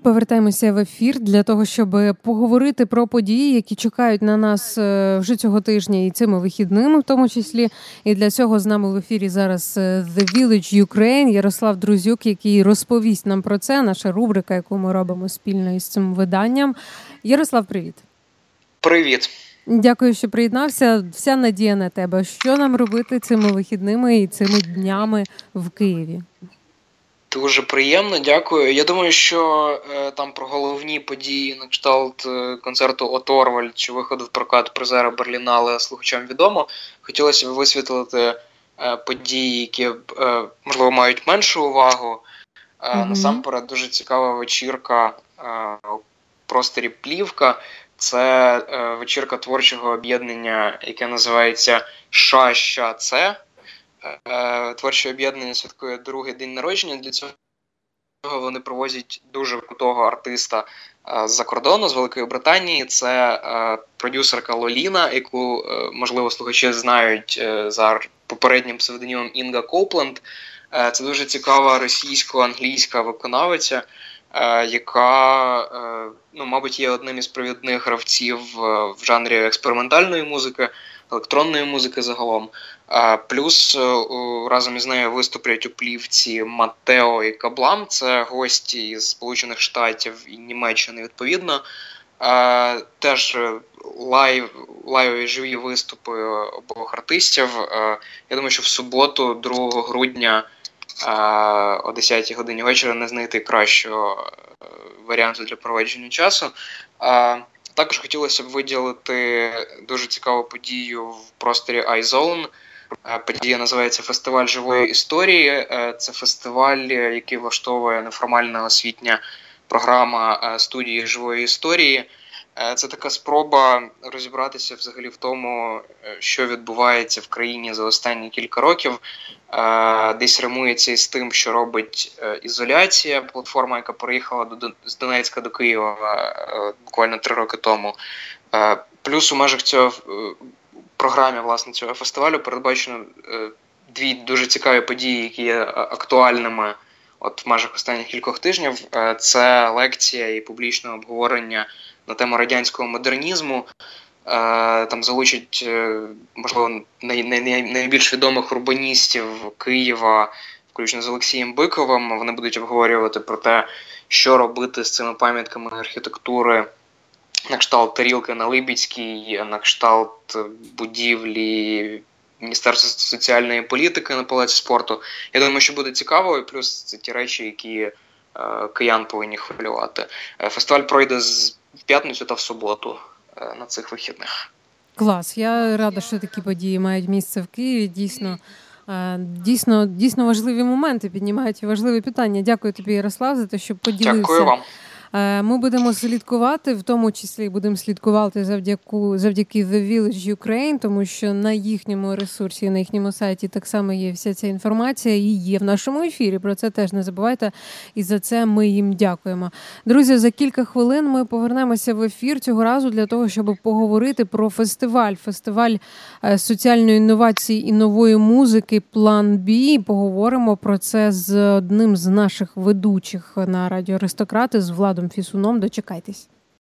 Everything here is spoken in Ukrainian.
Повертаємося в ефір для того, щоб поговорити про події, які чекають на нас вже цього тижня і цими вихідними в тому числі. І для цього з нами в ефірі зараз The Village Ukraine, Ярослав Друзюк, який розповість нам про це, наша рубрика, яку ми робимо спільно із цим виданням. Ярослав, привіт. Привіт. Дякую, що приєднався. Вся надія на тебе. Що нам робити цими вихідними і цими днями в Києві? Дуже приємно, дякую. Я думаю, що там про головні події на кшталт концерту «Оторвальд» чи виходу в прокат призера Берлінале слухачам відомо. Хотілося б висвітлити події, які, можливо, мають меншу увагу. Насамперед, дуже цікава вечірка у просторі «Плівка». Це вечірка творчого об'єднання, яке називається «Ша-Ща-Це». Творче об'єднання святкує другий день народження. Для цього вони привозять дуже крутого артиста з-за кордону, з Великої Британії. Це продюсерка Лоліна, яку, можливо, слухачі знають за попереднім псевдонімом Інга Копленд. Це дуже цікава російсько-англійська виконавиця, яка, мабуть, є одним із провідних гравців в жанрі експериментальної музики, електронної музики загалом. Плюс разом із нею виступлять у плівці Матео і Каблам, це гості із Сполучених Штатів і Німеччини відповідно. Теж лайвові живі виступи обох артистів. Я думаю, що в суботу, 2 грудня, о 10 годині вечора не знайти кращого варіанту для проведення часу. Також хотілося б виділити дуже цікаву подію в просторі iZone. Подія називається «Фестиваль живої історії». Це фестиваль, який влаштовує неформальна освітня програма студії живої історії. Це така спроба розібратися взагалі в тому, що відбувається в країні за останні кілька років. Десь римується із тим, що робить «Ізоляція», платформа, яка переїхала з Донецька до Києва буквально 3 роки тому. Плюс у межах цього програмі, власне, цього фестивалю передбачено 2 дуже цікаві події, які є актуальними в межах останніх кількох тижнів. Це лекція і публічне обговорення на тему радянського модернізму. Там залучать, можливо, найбільш відомих урбаністів Києва, включно з Олексієм Биковим. Вони будуть обговорювати про те, що робити з цими пам'ятками архітектури на кшталт тарілки на Либідській, на кшталт будівлі Міністерства соціальної політики на Палаці спорту. Я думаю, що буде цікаво, і плюс це ті речі, які киян повинні хвилювати. Фестиваль пройде в п'ятницю та в суботу на цих вихідних. Клас. Я рада, що такі події мають місце в Києві. Дійсно важливі моменти, піднімають важливі питання. Дякую тобі, Ярослав, за те, що поділився. Дякую вам. Ми будемо слідкувати, в тому числі будемо слідкувати завдяки The Village Ukraine, тому що на їхньому ресурсі, на їхньому сайті так само є вся ця інформація і є в нашому ефірі. Про це теж не забувайте, і за це ми їм дякуємо. Друзі, за кілька хвилин ми повернемося в ефір цього разу для того, щоб поговорити про фестиваль соціальної інновації і нової музики «План Б». Поговоримо про це з одним з наших ведучих на радіо «Аристократи», з Владом Фісуном. Дочекайтесь.